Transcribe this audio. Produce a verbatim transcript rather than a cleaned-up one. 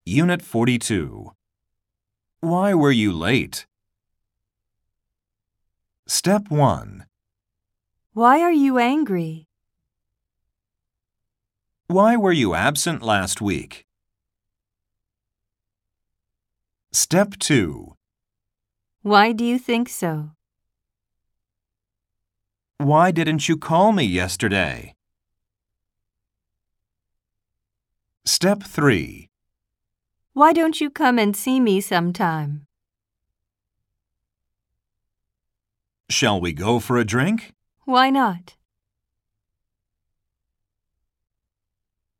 Unit forty-two. Why were you late? Step one. Why are you angry? Why were you absent last week? Step two. Why do you think so? Why didn't you call me yesterday? Step three. Why don't you come and see me sometime? Shall we go for a drink? Why not?